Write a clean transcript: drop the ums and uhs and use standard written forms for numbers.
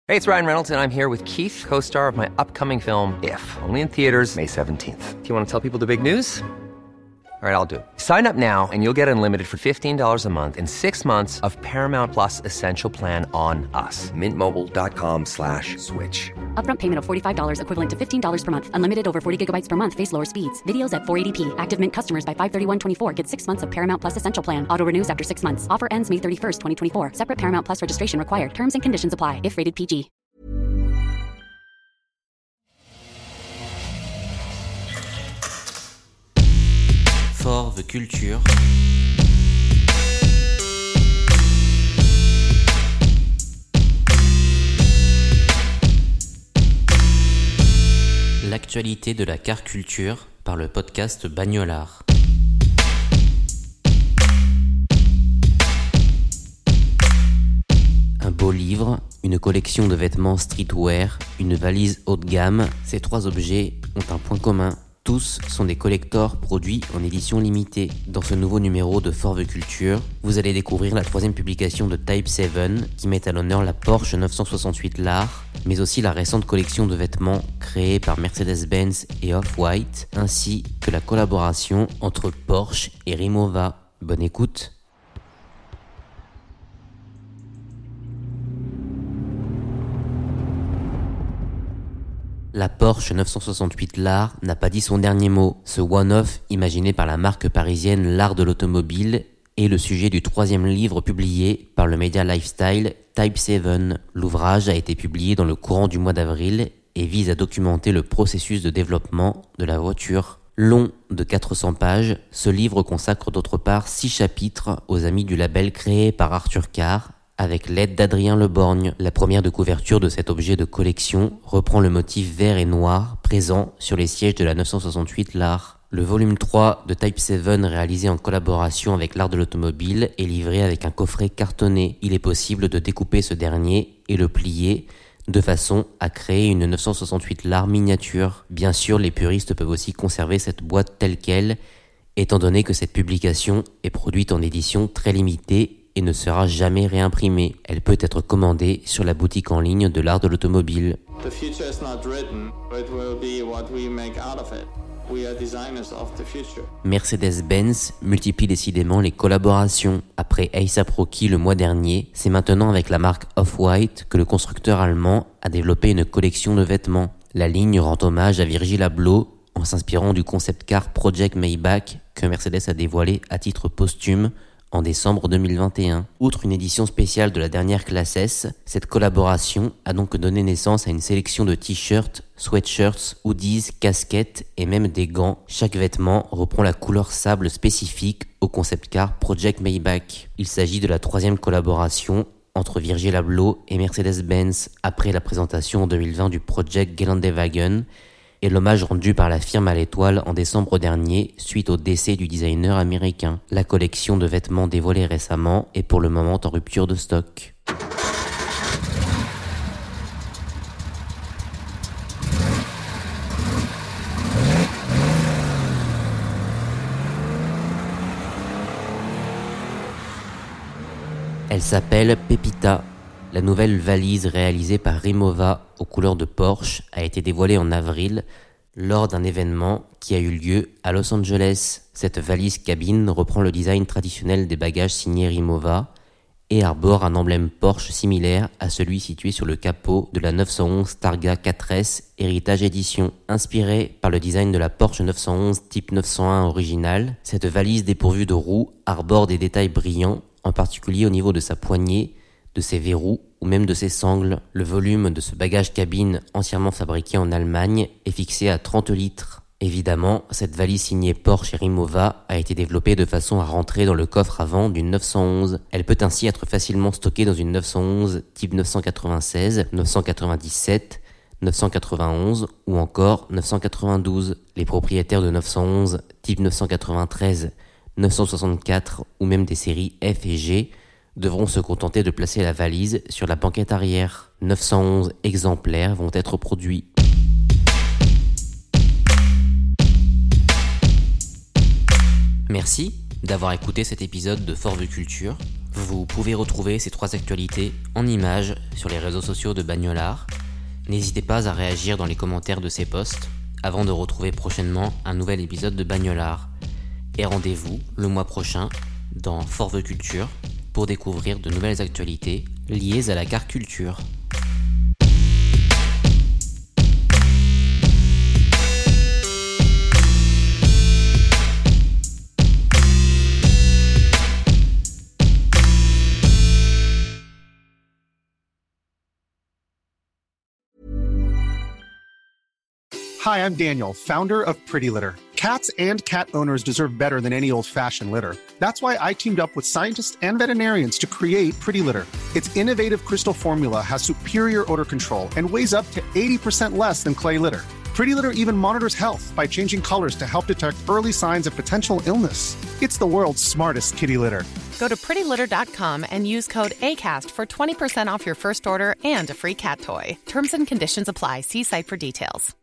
Hey, it's Ryan Reynolds, and I'm here with Keith, co-star of my upcoming film, If, only in theaters May 17th. Do you want to tell people the big news? All right, I'll do it. Sign up now and you'll get unlimited for $15 a month and 6 months of Paramount Plus Essential Plan on us. MintMobile.com/switch. Upfront payment of $45 equivalent to $15 per month. Unlimited over 40 gigabytes per month. Face lower speeds. Videos at 480p. Active Mint customers by 531.24 get 6 months of Paramount Plus Essential Plan. Auto renews after 6 months. Offer ends May 31st, 2024. Separate Paramount Plus registration required. Terms and conditions apply if rated PG. Forve Culture. L'actualité de la car culture par le podcast Bagnolard. Un beau livre, une collection de vêtements streetwear, une valise haut de gamme, ces trois objets ont un point commun. Tous sont des collectors produits en édition limitée. Dans ce nouveau numéro de Forve Culture, vous allez découvrir la troisième publication de Type 7 qui met à l'honneur la Porsche 968 Lar, mais aussi la récente collection de vêtements créée par Mercedes-Benz et Off-White, ainsi que la collaboration entre Porsche et Rimowa. Bonne écoute. La Porsche 968 Lar n'a pas dit son dernier mot. Ce one-off, imaginé par la marque parisienne L'Art de l'automobile, est le sujet du troisième livre publié par le média lifestyle Type 7. L'ouvrage a été publié dans le courant du mois d'avril et vise à documenter le processus de développement de la voiture. Long de 400 pages, ce livre consacre d'autre part 6 chapitres aux amis du label créé par Arthur Carr, avec l'aide d'Adrien Leborgne. La première de couverture de cet objet de collection reprend le motif vert et noir présent sur les sièges de la 968 Lar. Le volume 3 de Type 7, réalisé en collaboration avec l'Art de l'automobile, est livré avec un coffret cartonné. Il est possible de découper ce dernier et le plier de façon à créer une 968 Lar miniature. Bien sûr, les puristes peuvent aussi conserver cette boîte telle qu'elle, étant donné que cette publication est produite en édition très limitée et ne sera jamais réimprimée. Elle peut être commandée sur la boutique en ligne de l'Art de l'automobile. The future is not written, it will be what we make out of it. We are designers of the future. Mercedes-Benz multiplie décidément les collaborations. Après A$AP Rocky le mois dernier, c'est maintenant avec la marque Off-White que le constructeur allemand a développé une collection de vêtements. La ligne rend hommage à Virgil Abloh en s'inspirant du concept car Project Maybach que Mercedes a dévoilé à titre posthume en décembre 2021. Outre une édition spéciale de la dernière classe S, cette collaboration a donc donné naissance à une sélection de t-shirts, sweatshirts, hoodies, casquettes et même des gants. Chaque vêtement reprend la couleur sable spécifique au concept car Project Maybach. Il s'agit de la troisième collaboration entre Virgil Abloh et Mercedes-Benz après la présentation en 2020 du Project Geländewagen et l'hommage rendu par la firme à l'étoile en décembre dernier suite au décès du designer américain. La collection de vêtements dévoilée récemment est pour le moment en rupture de stock. Elle s'appelle Pepita. La nouvelle valise réalisée par Rimowa aux couleurs de Porsche a été dévoilée en avril lors d'un événement qui a eu lieu à Los Angeles. Cette valise cabine reprend le design traditionnel des bagages signés Rimowa et arbore un emblème Porsche similaire à celui situé sur le capot de la 911 Targa 4S Heritage Edition. Inspirée par le design de la Porsche 911 Type 901 originale, cette valise dépourvue de roues arbore des détails brillants, en particulier au niveau de sa poignée, de ses verrous ou même de ses sangles. Le volume de ce bagage cabine entièrement fabriqué en Allemagne est fixé à 30 litres. Évidemment, cette valise signée Porsche et Rimowa a été développée de façon à rentrer dans le coffre avant d'une 911. Elle peut ainsi être facilement stockée dans une 911 type 996, 997, 991 ou encore 992. Les propriétaires de 911 type 993, 964 ou même des séries F et G devront se contenter de placer la valise sur la banquette arrière. 911 exemplaires vont être produits. Merci d'avoir écouté cet épisode de Forve Culture. Vous pouvez retrouver ces 3 actualités en images sur les réseaux sociaux de Bagnolard. N'hésitez pas à réagir dans les commentaires de ces posts avant de retrouver prochainement un nouvel épisode de Bagnolard. Et rendez-vous le mois prochain dans Forve Culture pour découvrir de nouvelles actualités liées à la car culture. Hi, I'm Daniel, founder of Pretty Litter. Cats and cat owners deserve better than any old-fashioned litter. That's why I teamed up with scientists and veterinarians to create Pretty Litter. Its innovative crystal formula has superior odor control and weighs up to 80% less than clay litter. Pretty Litter even monitors health by changing colors to help detect early signs of potential illness. It's the world's smartest kitty litter. Go to prettylitter.com and use code ACAST for 20% off your first order and a free cat toy. Terms and conditions apply. See site for details.